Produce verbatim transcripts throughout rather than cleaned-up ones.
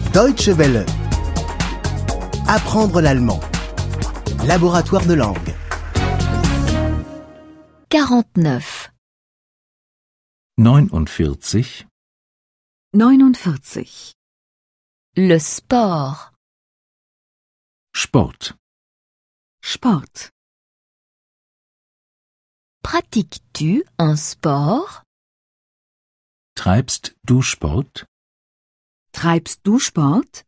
Deutsche Welle. Apprendre l'allemand. Laboratoire de langue. quarante-neuf. neunundvierzig. neunundvierzig. Le sport. Sport. Sport. Pratiques-tu un sport? Treibst du Sport? Treibst du Sport?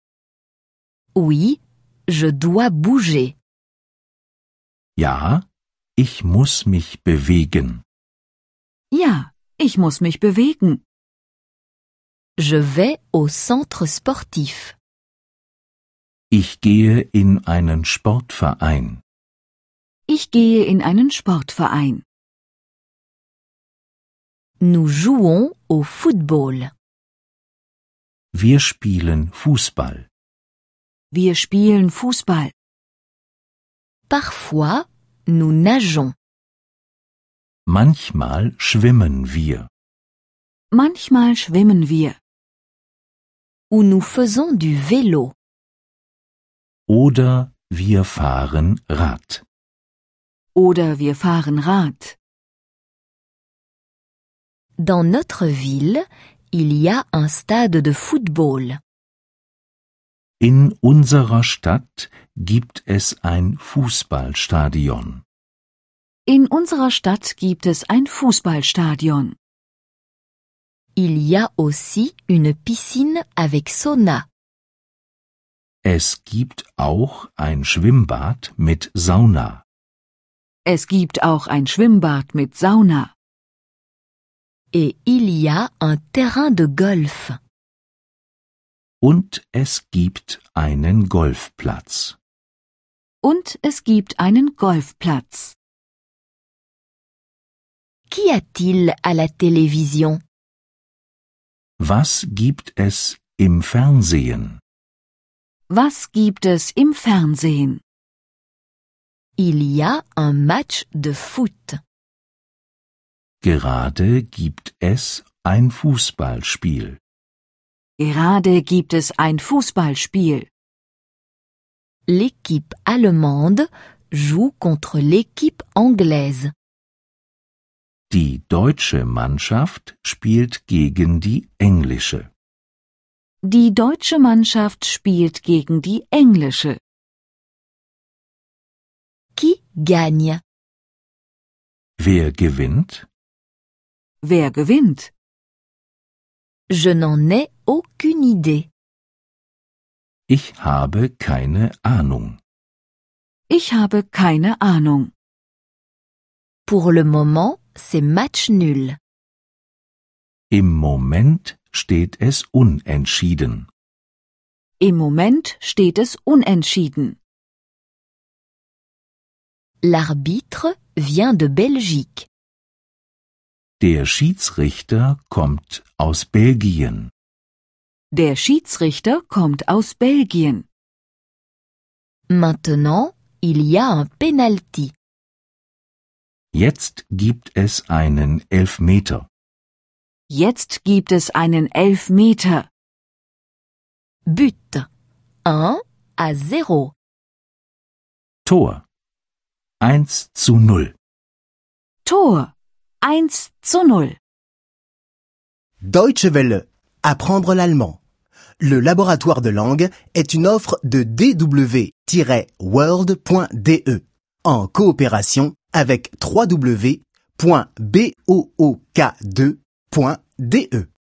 Oui, je dois bouger. Ja, ich muss mich bewegen. Ja, ich muss mich bewegen. Je vais au centre sportif. Ich gehe in einen Sportverein. Ich gehe in einen Sportverein. Nous jouons au football. Wir spielen Fußball. Wir spielen Fußball. Parfois, nous nageons. Manchmal schwimmen wir. Manchmal schwimmen wir. Ou nous faisons du vélo. Oder wir fahren Rad. Oder wir fahren Rad. Dans notre ville, il y a un stade de football. In unserer Stadt gibt es ein Fußballstadion. In unserer Stadt gibt es ein Fußballstadion. Il y a aussi une piscine avec sauna. Es gibt auch ein Schwimmbad mit Sauna. Es gibt auch ein Schwimmbad mit Sauna. Et il y a un terrain de golf. Und es gibt einen Golfplatz. Und es gibt einen Golfplatz. Qu'y a-t-il à la télévision? Was gibt es im Fernsehen? Was gibt es im Fernsehen? Il y a un match de foot. Gerade gibt es ein Fußballspiel. Gerade gibt es ein Fußballspiel. L'équipe allemande joue contre l'équipe anglaise. Die deutsche Mannschaft spielt gegen die englische. Die deutsche Mannschaft spielt gegen die englische. Qui gagne? Wer gewinnt? Wer gewinnt? Je n'en ai aucune idée. Ich habe keine Ahnung. Ich habe keine Ahnung. Pour le moment, c'est match nul. Im Moment steht es unentschieden. Im Moment steht es unentschieden. L'arbitre vient de Belgique. Der Schiedsrichter kommt aus Belgien. Der Schiedsrichter kommt aus Belgien. Maintenant, il y a un penalty. Jetzt gibt es einen Elfmeter. Jetzt gibt es einen Elfmeter. But. un à zéro. Tor. eins zu null. Tor. eins zu null. Deutsche Welle. Apprendre l'allemand. Le laboratoire de langue est une offre de d w tiret world point d e en coopération avec w w w point book deux point d e.